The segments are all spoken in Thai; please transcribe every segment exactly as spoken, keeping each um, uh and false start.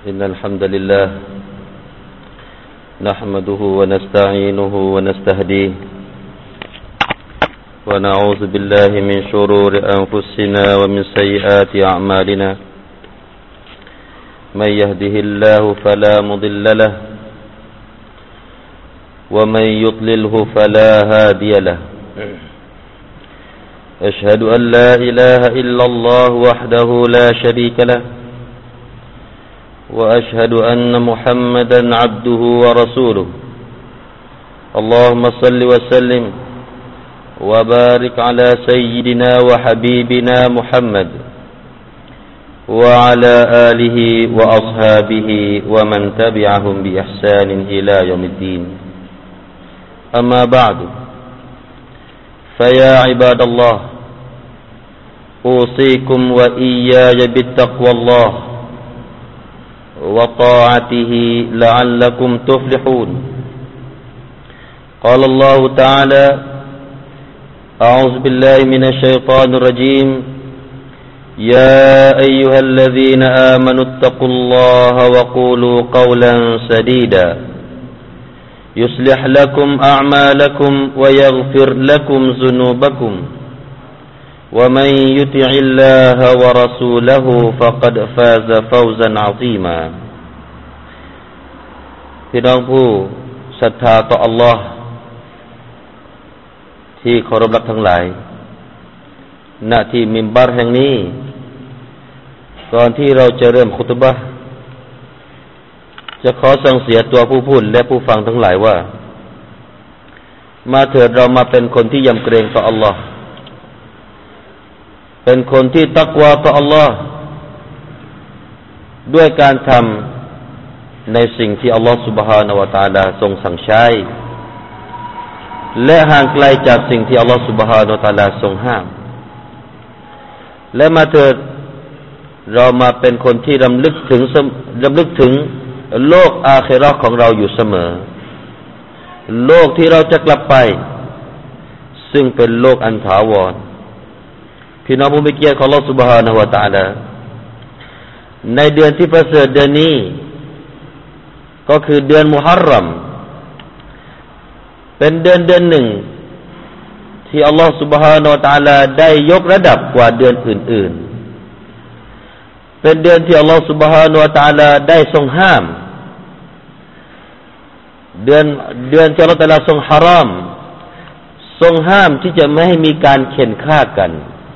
إن الحمد لله نحمده ونستعينه ونستهديه ونعوذ بالله من شرور أنفسنا ومن سيئات أعمالنا من يهده الله فلا مضل له ومن يضلله فلا هادي له أشهد أن لا إله إلا الله وحده لا شريك له وأشهد أن محمدا عبده ورسوله اللهم صل وسلم وبارك على سيدنا وحبيبنا محمد وعلى آله وأصحابه ومن تبعهم بإحسان إلى يوم الدين أما بعد فيا عباد الله أوصيكم وإياي بالتقوى الله وطاعته لعلكم تفلحون قال الله تعالى أعوذ بالله من الشيطان الرجيم يا أيها الذين آمنوا اتقوا الله وقولوا قولا سديدا يصلح لكم أعمالكم ويغفر لكم ذنوبكم ومن يطع الله ورسوله فقد فاز فوزا عظيما พี่น้องผู้ศรัทธาต่อ Allah ที่เคารพรักทั้งหลายณที่มิมบัรแห่งนี้ก่อนที่เราจะเริ่มคุตบะห์จะขอสั่งเสียตัวผู้พูดและผู้ฟังทั้งหลายว่ามาเถิดเรามาเป็นคนที่ยำเกรงต่อ Allah เป็นคนที่ตักวาต่อ Allah ด้วยการทำในสิ่งที่ Allah Subhanahu Wa Taala ทรงสั่งใช้และห่างไกลจากสิ่งที่ Allah Subhanahu Wa Taala ทรงห้ามและมาเถิดเรามาเป็นคนที่รำลึกถึงรำลึกถึงโลกอาคิเราะห์ของเราอยู่เสมอโลกที่เราจะกลับไปซึ่งเป็นโลกอันถาวรพี่น้องผู้มีเกียรติของอัลเลาะห์ซุบฮานะฮูวะตะอาลาในเดือนที่ประเสริฐเดือนนี้ก็คือเดือนมุฮัรรอมเป็นเดือนเดือนหนึ่งที่อัลเลาะห์ซุบฮานะฮูวะตะอาลาได้ยกระดับกว่าเดือนอื่นๆเป็นเดือนที่อัลเลาะห์ซุบฮานะฮูวะตะอาลาได้ทรงห้ามเดือนเดือนที่อัลเลาะห์ตะอาลาทรงฮารอมทรงห้ามที่จะไม่ให้มีการเข็นฆ่ากัน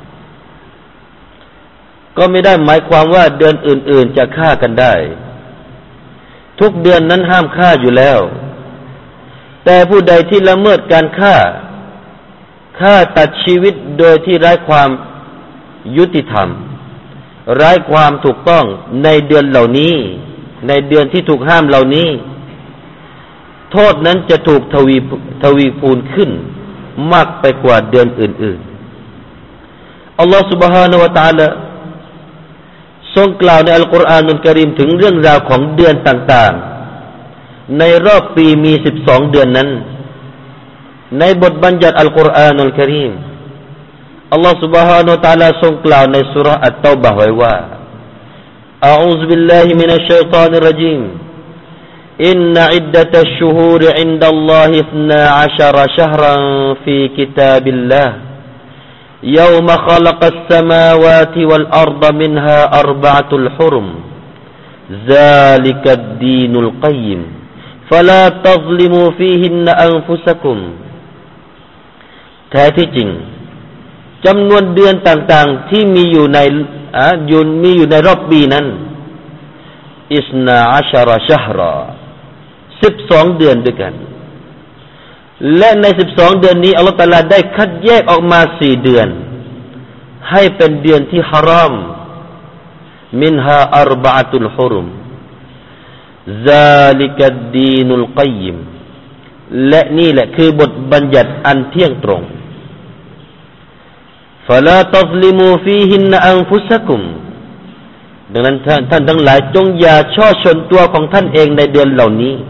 ก็ไม่ได้หมายความว่าเดือนอื่นๆจะฆ่ากันได้ทุกเดือนนั้นห้ามฆ่าอยู่แล้วแต่ผู้ใดที่ละเมิดการฆ่าฆ่าตัดชีวิตโดยที่ไร้ความยุติธรรมไร้ความถูกต้องในเดือนเหล่านี้ในเดือนที่ถูกห้ามเหล่านี้โทษนั้นจะถูกทวีทวีคูณขึ้นมากไปกว่าเดือนอื่นๆอัลลอฮฺ سبحانه และ تعالى ทรงกล่าวในอัลกุรอานุลกะรีมถึงเรื่องราวของเดือนต่างๆในรอบปีมีสิบสองเดือนนั้นในบทบัญญัติอัลกุรอานุลกะรีมอัลลอฮฺ سبحانه และ تعالى ทรงกล่าวในซูเราะห์อัตเตาบะห์ไว้ว่าอะอูซุบิลลาฮิมินัชชัยฏอนิรเราะญีมอินนะอิดดะตัชชุฮูรอินดัลลอฮิอิษนาอัชเราะชะฮรันฟีกิตาบิลลาห์يوم خلق السماوات والأرض منها أربعة الحرم ذلك الدين القيم فلا تظلموا فيهن أنفسكم แท้ที่จริงจำนวนเดือนต่างๆที่มีอยู่ในอ่าอยู่มีอยู่ในรอบปีนั้นอิสนาอัชเราะชะฮราสิบสองเดือนด้วยกันและในสิบสองเดือนนี้อัลเลาะห์ตะอาลาได้คัดแยกออกมาสี่เดือนให้เป็นเดือนที่ฮารอมมินฮาอัรบะอะตุลฮุรุมซาลิกัดดีนุลกัยยิมและนี่แหละคือบทบัญญัติอันเที่ยงตรงฟะลาตัซลิมูฟีฮินอันฟุซะกุมดังนั้นท่านท่านทั้งหลายจงอย่าช่อชนตัวของท่านเองในเดือนเหล่านี้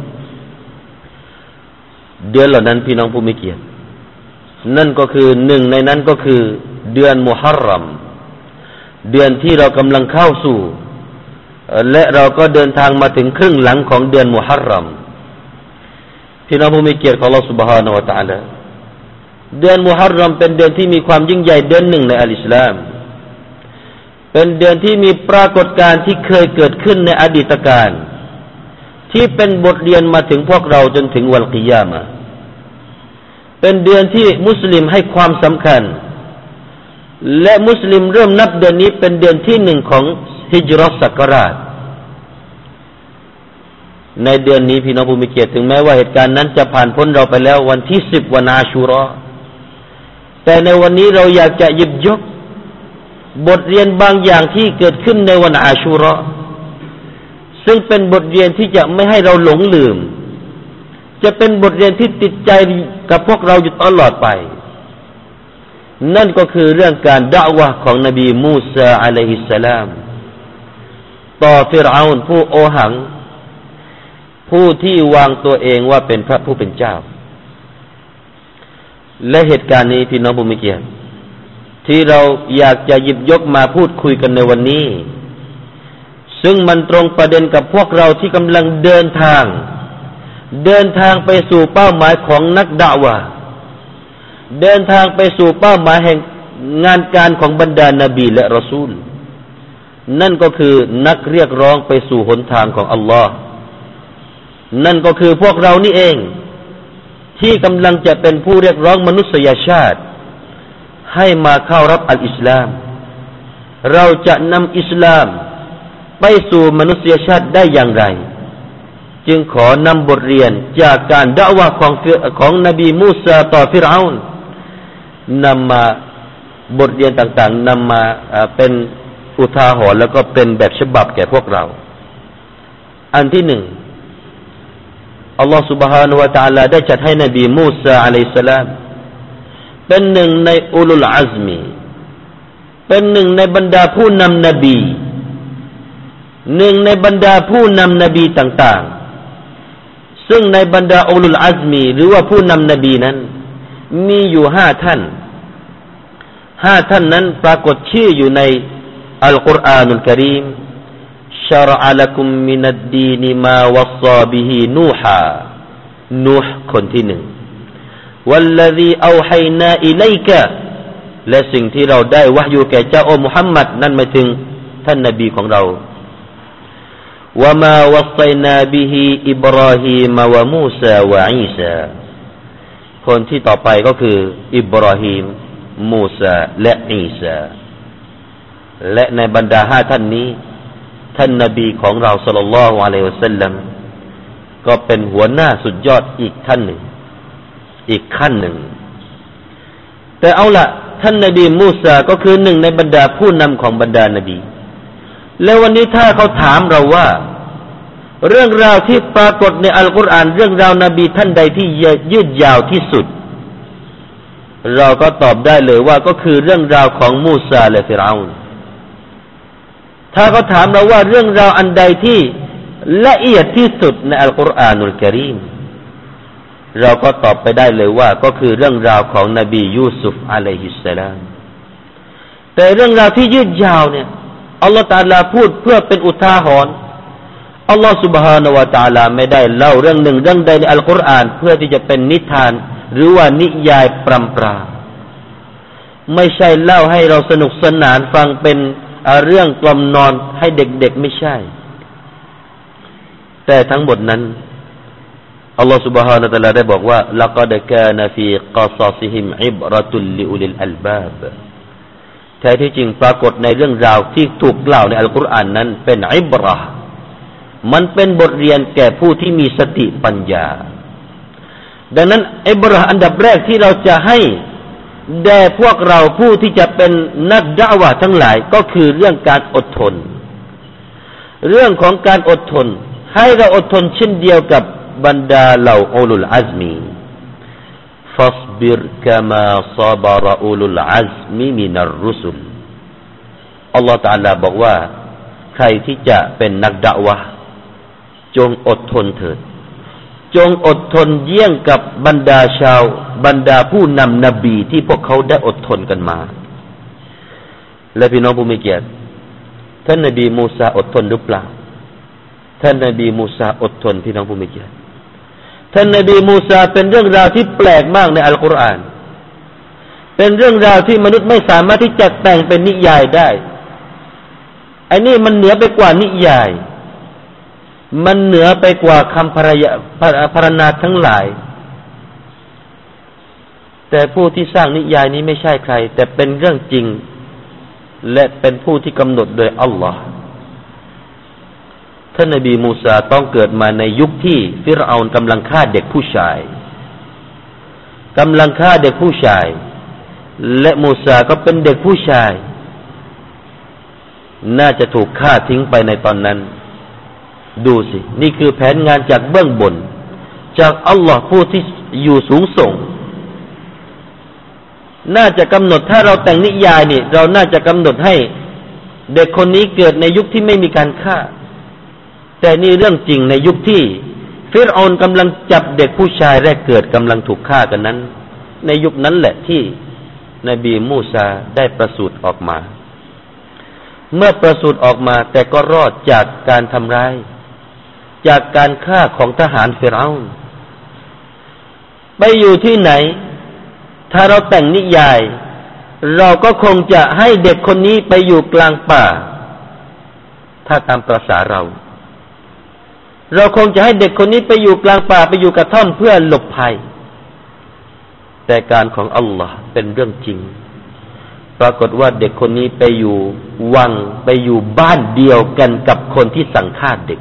เดือนเหล่านั้นพี่น้องผู้มีเกียรตินั่นก็คือหนึ่งในนั้นก็คือเดือนมุฮัรรอม เดือนที่เรากำลังเข้าสู่และเราก็เดินทางมาถึงครึ่งหลังของเดือนมุฮัรรอมพี่น้องผู้มีเกียรติของอัลเลาะห์ซุบฮานะฮูวะตะอาลาเดือนมุฮัรรอมเป็นเดือนที่มีความยิ่งใหญ่เดือนหนึ่งในอัลอิสลามเป็นเดือนที่มีปรากฏการณ์ที่เคยเกิดขึ้นในอดีตการที่เป็นบทเรียนมาถึงพวกเราจนถึงวันกิยามะห์เป็นเดือนที่มุสลิมให้ความสำคัญและมุสลิมเริ่มนับเดือนนี้เป็นเดือนที่หนึ่งของฮิจเราะห์ศักราชในเดือนนี้พี่น้องผู้มีเกียรติถึงแม้ว่าเหตุการณ์นั้นจะผ่านพ้นเราไปแล้ววันที่สิบวันอาชูเราะห์แต่ในวันนี้เราอยากจะหยิบยกบทเรียนบางอย่างที่เกิดขึ้นในวันอาชูเราะห์ซึ่งเป็นบทเรียนที่จะไม่ให้เราหลงลืมจะเป็นบทเรียนที่ติดใจกับพวกเราอยู่ตลอดไปนั่นก็คือเรื่องการดะอ์วะห์ของนบีมูซาอะลัยฮิสสลามต่อฟิรเอาน์ผู้โอหังผู้ที่วางตัวเองว่าเป็นพระผู้เป็นเจ้าและเหตุการณ์นี้พี่น้องผู้มีเกียรติที่เราอยากจะหยิบยกมาพูดคุยกันในวันนี้ซึ่งมันตรงประเด็นกับพวกเราที่กำลังเดินทางเดินทางไปสู่เป้าหมายของนักดะอ์วะห์เดินทางไปสู่เป้าหมายแห่งงานการของบรรดานบีและรอซูลนั่นก็คือนักเรียกร้องไปสู่หนทางของอัลลอฮ์นั่นก็คือพวกเรานี่เองที่กำลังจะเป็นผู้เรียกร้องมนุษยชาติให้มาเข้ารับอัลอิสลามเราจะนำอิสลามไปสู่มนุษยชาติได้อย่างไรจึงขอนำบทเรียนจากการดะอ์วะห์ของของนบีมูซาต่อฟิรเอาน์นำมาบทเรียนต่างๆนำมาเป็นอุทาหรณ์แล้วก็เป็นแบบฉบับแก่พวกเราอันที่หนึ่งอัลลอฮฺ سبحانه และ تعالى ได้จัดให้นบีมูซาอะลัยฮิสสลามเป็นหนึ่งในอุลุลอัซมีเป็นหนึ่งในบรรดาผู้นำนบีหนึ่งในบรรดาผู้นำนบีต่างๆซึ่งในบรรดาอุลุลอัซมีหรือว่าผู้นำนบีนั้นมีอยู่ห้าท่านห้าท่านนั้นปรากฏชื่ออยู่ในอัลกุรอานุลกะรีมشرع لكم من الدين ما وصى به نوحا نوح คนที่หนึ่ง والذي أوحينا إليك และสิ่งที่เราได้วะห์ยูแก่เจ้าโอ้มุฮัมมัดนั่นหมายถึงท่านนบีของเรา وما وصينا به إبراهيم وموسى وعيسى คนที่ต่อไปก็คืออิบราฮีมมูซาและอีสาและในบรรดาห้าท่านนี้ท่านนบีของเราศ็อลลัลลอฮุอะลัยฮิวะซัลลัมก็เป็นหัวหน้าสุดยอดอีกท่านหนึ่งอีกขั้นหนึ่งแต่เอาละท่านนบีมูซาก็คือหนึ่งในบรรดาผู้นำของบรรดานบีแล้ววันนี้ถ้าเขาถามเราว่าเรื่องราวที่ปรากฏในอัลกุรอานเรื่องราวนบีท่านใดที่ยืดยาวที่สุดเราก็ตอบได้เลยว่าก็คือเรื่องราวของมูซาและฟิรเอาน์ถ้าเขาถามเราว่าเรื่องราวอันใดที่ละเอียดที่สุดในอัลกุรอานุลกะรีมเราก็ตอบไปได้เลยว่าก็คือเรื่องราวของนบียูซุฟอะลัยฮิสสลามแต่เรื่องราวที่ยืดยาวเนี่ยอัลลอฮฺตะอาลาพูดเพื่อเป็นอุทาหรณ์อัลลอฮฺซุบฮานะฮูวะตะอาลาไม่ได้เล่าเรื่องหนึ่งเรื่องใดในอัลกุรอานเพื่อที่จะเป็นนิทานหรือว่านิยายปรำปราไม่ใช่เล่าให้เราสนุกสนานฟังเป็นเรื่องกล่อมนอนให้เด็กๆไม่ใช่แต่ทั้งหมดนั้นอัลลอฮฺ سبحانه และ تعالى ได้บอกว่า لقد كان في قصصهم عبرة لأولي الألباب แท้ที่จริงปรากฏในเรื่องราวที่ถูกกล่าวในอัลกุรอานนั้นเป็นอิบเราะห์มันเป็นบทเรียนแก่ผู้ที่มีสติปัญญาดังนั้นอิบเราะห์อันดับแรกที่เราจะให้แด่พวกเราผู้ที่จะเป็นนักดะอ์วะห์ทั้งหลายก็คือเรื่องการอดทนเรื่องของการอดทนให้เราอดทนเช่นเดียวกับบรรดาเหล่าอุลุลอัซมีฟัศบิรกะมาศะบะรอุลุลอัซมีมินัรรุสุลอัลลอฮฺตะอาลาบอกว่าใครที่จะเป็นนักดะอ์วะห์จงอดทนเถิดจงอดทนเยี่ยงกับบรรดาชาวบรรดาผู้นำนบีที่พวกเขาได้อดทนกันมาและพี่น้องผู้มีเกียรติท่านนบีมูซาอดทนหรือเปล่าท่านนบีมูซาอดทนพี่น้องผู้มีเกียรติท่านนบีมูซาเป็นเรื่องราวที่แปลกมากในอัลกุรอานเป็นเรื่องราวที่มนุษย์ไม่สามารถที่จะแต่งเป็นนิยายได้ไอ้นี่มันเหนือไปกว่านิยายมันเหนือไปกว่าคำพรรณพรรณนาทั้งหลายแต่ผู้ที่สร้างนิยายนี้ไม่ใช่ใครแต่เป็นเรื่องจริงและเป็นผู้ที่กำหนดโดยอัลลอฮ์ท่านนบีมูซาต้องเกิดมาในยุคที่ฟิรเอาน์กำลังฆ่าเด็กผู้ชายกำลังฆ่าเด็กผู้ชายและมูซาก็เป็นเด็กผู้ชายน่าจะถูกฆ่าทิ้งไปในตอนนั้นดูสินี่คือแผนงานจากเบื้องบนจากอัลลอฮ์ผู้ที่อยู่สูงส่งน่าจะกำหนดถ้าเราแต่งนิยายนี่เราน่าจะกำหนดให้เด็กคนนี้เกิดในยุคที่ไม่มีการฆ่าแต่นี่เรื่องจริงในยุคที่ฟิรเอาน์กำลังจับเด็กผู้ชายแรกเกิดกำลังถูกฆ่ากันนั้นในยุคนั้นแหละที่นบีมูซาได้ประสูติออกมาเมื่อประสูติออกมาแต่ก็รอดจากการทำร้ายจากการฆ่าของทหารฟิรเอาน์ไปอยู่ที่ไหนถ้าเราแต่งนิยายเราก็คงจะให้เด็กคนนี้ไปอยู่กลางป่าถ้าตามประสาเราเราคงจะให้เด็กคนนี้ไปอยู่กลางป่าไปอยู่กระท่อมเพื่อหลบภัยแต่การของอัลลอฮ์เป็นเรื่องจริงปรากฏว่าเด็กคนนี้ไปอยู่วังไปอยู่บ้านเดียวกันกับคนที่สั่งฆ่าเด็ก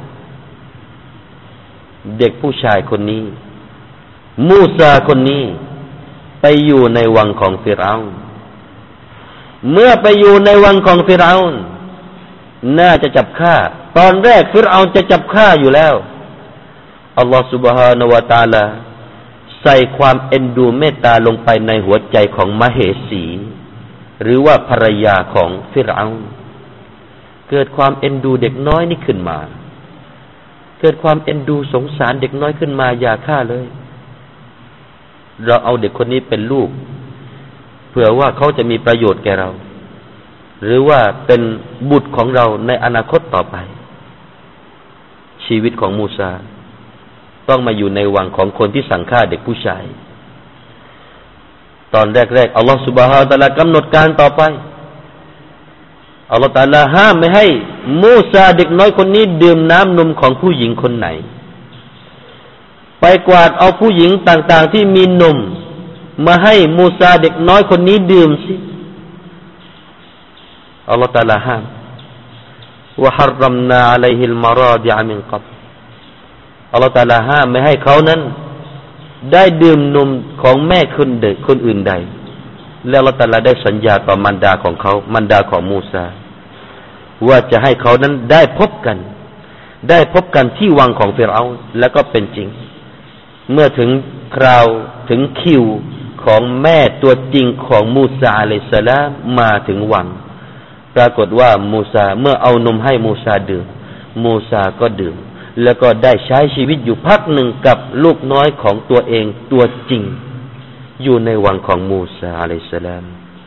เด็กผู้ชายคนนี้มูซาคนนี้ไปอยู่ในวังของฟิรเอาน์เมื่อไปอยู่ในวังของฟิรเอาน์น่าจะจับฆ่าตอนแรกฟิรเอาน์จะจับฆ่าอยู่แล้วอัลลอฮฺ سبحانه และ تعالى ใส่ความเอ็นดูเมตตาลงไปในหัวใจของมเหสีหรือว่าภรรยาของฟิรเอาน์เกิดความเอ็นดูเด็กน้อยนี่ขึ้นมาเกิดความเอ็นดูสงสารเด็กน้อยขึ้นมาอย่าฆ่าเลยเราเอาเด็กคนนี้เป็นลูกเผื่อว่าเขาจะมีประโยชน์แก่เราหรือว่าเป็นบุตรของเราในอนาคตต่อไปชีวิตของมูซาต้องมาอยู่ในวังของคนที่สั่งฆ่าเด็กผู้ชายตอนแรกๆอัลลอฮฺซุบฮานะฮูวะตะอาลากำหนดการต่อไปอัลลอฮฺตะอาลาห้ามไม่ให้มูซาเด็กน้อยคนนี้ดื่มน้ำนมของผู้หญิงคนไหนไปกวาดเอาผู้หญิงต่างๆที่มีนมมาให้มูซาเด็กน้อยคนนี้ดื่มสิอัลลอฮฺตะอาลาห้ามวะฮัรรัมนาอะลัยฮิลมาราดิอะมินกับอัลลอฮฺตะอาลาห้ามไม่ให้เขานั้นได้ดื่มนมของแม่คนเด็กคนอื่นใดแล้วอัลลอฮฺตะอาลาได้สัญญาต่อมารดาของเขามารดาของมูซาว่าจะให้เขานั้นได้พบกันได้พบกันที่วังของฟิรเอาน์แล้วก็เป็นจริงเมื่อถึงคราวถึงคิวของแม่ตัวจริงของมูซาอะลัยฮิสสลามมาถึงวังปรากฏว่ามูซาเมื่อเอานมให้มูซาดื่มมูซาก็ดื่มแล้วก็ได้ใช้ชีวิตอยู่พักหนึ่งกับลูกน้อยของตัวเองตัวจริงอยู่ในวังของมูซาอะลัยฮิสสลาม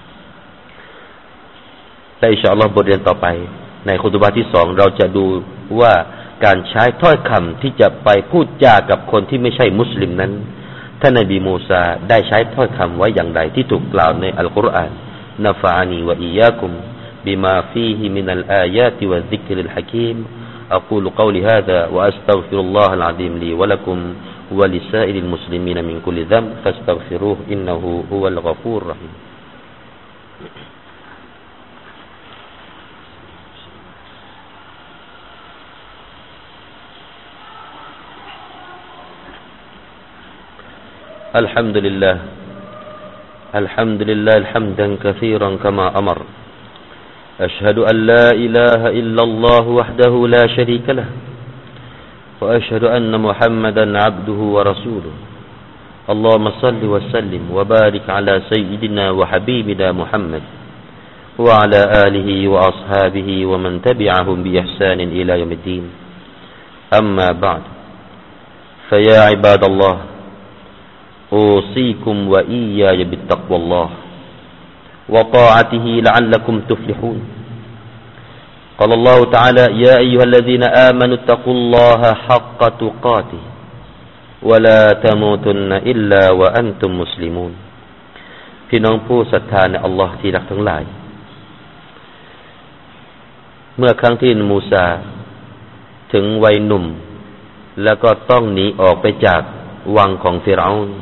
แต่อินชาอัลลอฮ์บทเรียนต่อไปในคุตุบะห์ที่สองเราจะดูว่าการใช้ถ้อยคำที่จะไปพูดจากับคนที่ไม่ใช่มุสลิมนั้นท่านนบีมูซาได้ใช้ถ้อยคำไว้อย่างไรที่ถูกกล่าวในอัลกุรอานนะฟะอานีวะอียากุมบิมาฟีฮิมินัลอายาติวะซิกริลฮะกีมอะกูลุกอลิฮาซา วะอัสตัฆฟิรุลลอฮะลอะซีมลีวะละกุมวะลิซาอิริลมุสลิมีนมินกุลิซัมฟัสตัฆฟิรูฮ์อินนะฮูฮุวัลฆอฟูรเราะฮีมالحمد لله الحمد لله حمدا كثيرا كما أمر أشهد أن لا إله إلا الله وحده لا شريك له وأشهد أن محمدا عبده ورسوله اللهم صل وسلم وبارك على سيدنا وحبيبنا محمد وعلى آله وأصحابه ومن تبعهم بإحسان إلى يوم الدين أما بعد فيا عباد الله أوصيكم وإياي بالتقوى الله وطاعته لعلكم تفلحون قال الله تعالى يا أيها الذين آمنوا اتقوا الله حق تقاته ولا تموتن إلا وأنتم مسلمون พี่น้องผู้ศรัทธาในอัลลอฮ์ที่รักทั้งหลายเมื่อครั้งที่มูซาถึงวัยหนุ่มแล้วก็ต้องหนีออกไปจากวังของฟิรเอาน์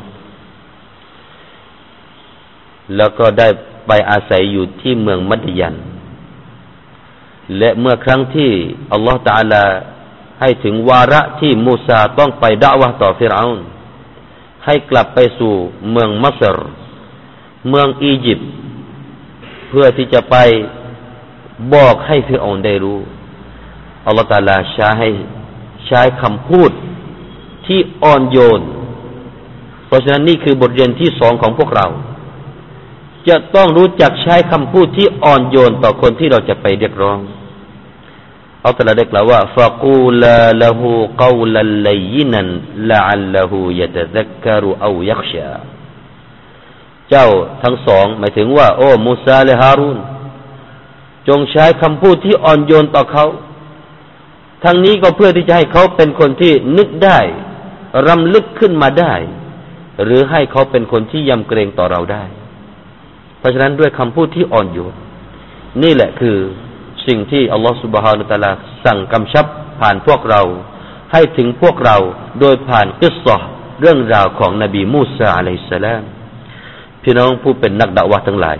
แล้วก็ได้ไปอาศัยอยู่ที่เมืองมัดยันและเมื่อครั้งที่อัลลอฮฺตะอาลาให้ถึงวาระที่มูซาต้องไปดะอวะห์ต่อฟิรเอาน์ให้กลับไปสู่เมืองมัสรเมืองอียิปต์เพื่อที่จะไปบอกให้ฟิรเอาน์ได้รู้อัลลอฮฺตะอาลาใช้ให้ใช้คำพูดที่อ่อนโยนเพราะฉะนั้นนี่คือบทเรียนที่สองของพวกเราจะต้องรู้จักใช้คำพูดที่อ่อนโยนต่อคนที่เราจะไปเรียกร้องอัลลอฮฺตะอาลาได้กล่าวว่าฟะกูลาละฮูกอลัลลัยนันละอัลละฮูยะตะซักกะรุเอายักชาเจ้าทั้งสองหมายถึงว่าโอ้มูซาและฮารูนจงใช้คำพูดที่อ่อนโยนต่อเขาทั้งนี้ก็เพื่อที่จะให้เขาเป็นคนที่นึกได้รำลึกขึ้นมาได้หรือให้เขาเป็นคนที่ยำเกรงต่อเราได้เพราะฉะนั้นด้วยคำพูดที่อ่อนโยนนี่แหละคือสิ่งที่อัลลอฮฺ سبحانه และ تعالى สั่งกำชับผ่านพวกเราให้ถึงพวกเราโดยผ่านกิสซะห์เรื่องราวของนบีมูซาอะลัยฮิสสลามพี่น้องผู้เป็นนักดะอ์วะห์ทั้งหลาย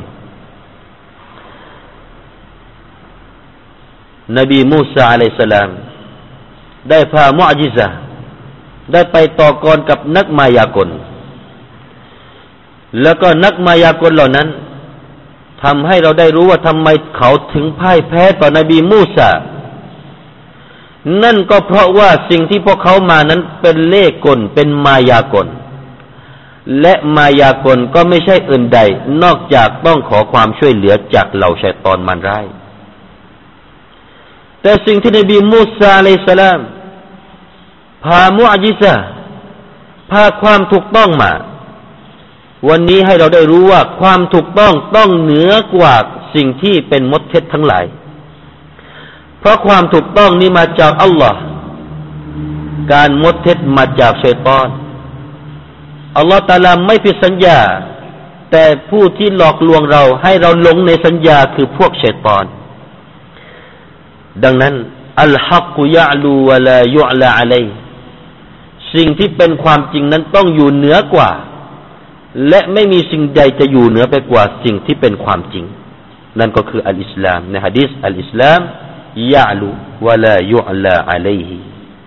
นบีมูซาอะลัยฮิสสลามได้พามุอ์ญิซะห์ได้ไปต่อกรกับนักมายากลแล้วก็นักมายากลเหล่านั้นทำให้เราได้รู้ว่าทำไมเขาถึงพ่ายแพ้ต่อนบีมูซานั่นก็เพราะว่าสิ่งที่พวกเขามานั้นเป็นเล่ห์กลเป็นมายากลและมายากลก็ไม่ใช่อื่นใดนอกจากต้องขอความช่วยเหลือจากเหล่าชัยฏอนมารร้ายแต่สิ่งที่นบีมูซาอะลัยฮิสสลามพามุอ์ญิซะห์พาความถูกต้องมาวันนี้ให้เราได้รู้ว่าความถูกต้องต้องเหนือกว่าสิ่งที่เป็นมดเท็จทั้งหลายเพราะความถูกต้องนี้มาจากอัลลอฮ์การมดเท็จมาจากชัยฏอนอัลลอฮ์ตะอาลาไม่ผิดสัญญาแต่ผู้ที่หลอกลวงเราให้เราหลงในสัญญาคือพวกชัยฏอนดังนั้นอัลฮักยะลูวะลายุอลาอะลัยสิ่งที่เป็นความจริงนั้นต้องอยู่เหนือกว่าและไม่มีสิ่งใดจะอยู่เหนือไปกว่าสิ่งที่เป็นความจริงนั่นก็คืออัลอิสลามในหะดีษอัลอิสลามยะลูวะลายุอลาอะลัยฮิ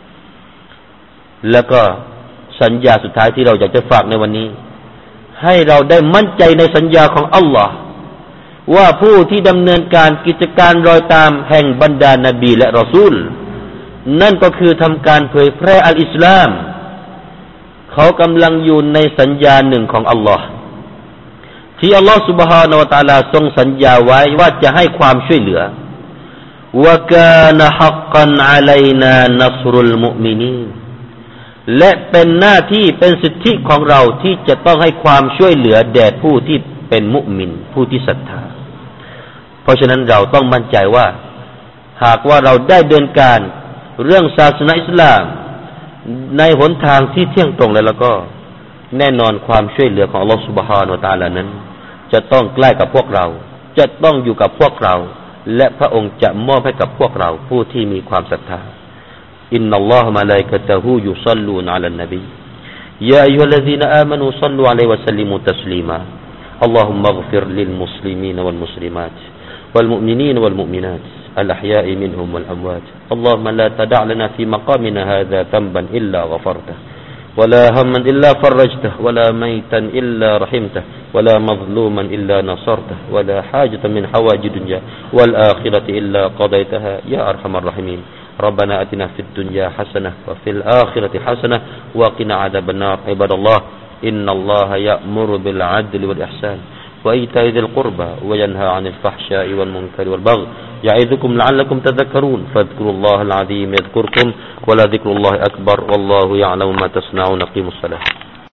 แล้วก็สัญญาสุดท้ายที่เราอยากจะฝากในวันนี้ให้เราได้มั่นใจในสัญญาของอัลลอฮ์ว่าผู้ที่ดำเนินการกิจการรอยตามแห่งบรรดานบีและรอซูลนั่นก็คือทำการเผยแพร่อัลอิสลามเขากำลังอยู่ในสัญญาหนึ่งของอัลลอฮ์ที่อัลลอฮ์ سبحانه และ تعالى ทรงสัญญาไว้ว่าจะให้ความช่วยเหลือวะกานะฮักกันอะลัยนานัศรุลมุอ์มินีนและเป็นหน้าที่เป็นสิทธิของเราที่จะต้องให้ความช่วยเหลือแด่ผู้ที่เป็นมุมินผู้ที่ศรัทธาเพราะฉะนั้นเราต้องมั่นใจว่าหากว่าเราได้เดินการเรื่องศาสนาอิสลามในหนทางที่เที่ยงตรงแล้วแล้วก็แน่นอนความช่วยเหลือของอัลลอฮฺ سبحانه และ تعالى นั้นจะต้องใกล้กับพวกเราจะต้องอยู่กับพวกเราและพระองค์จะมอบให้กับพวกเราผู้ที่มีความศรัทธาอินนัลลอฮะมะลาอิกะตะฮูยุศ็อลลูนอะลันนบียาอัยยูฮัลลซีนอามานูศ็อลลูอะลัยฮิวะซัลลิมูตัสลีมาอัลลอฮุมมัฆฟิรลิลมุสลิมีนวัลมุสลิมาตวัลมุอ์มินีนวัลมุอ์มินาตالأحياء منهم والأموات اللهم لا تدع لنا في مقامنا هذا ذنبا إلا غفرته ولا هما إلا فرجته ولا ميتا إلا رحمته ولا مظلوما إلا نصرته ولا حاجة من حوائج الدنيا والآخرة إلا قضيتها يا أرحم الراحمين ربنا أتنا في الدنيا حسنة وفي الآخرة حسنة وقنا عذاب النار عباد الله إن الله يأمر بالعدل والإحسان وإيتاء ذي القربى وينهى عن الفحشاء والمنكر والبغي يعظكم لعلكم تذكرون فاذكروا الله العظيم يذكركم ولذكر الله أكبر والله يعلم ما تصنعون قيموا الصلاة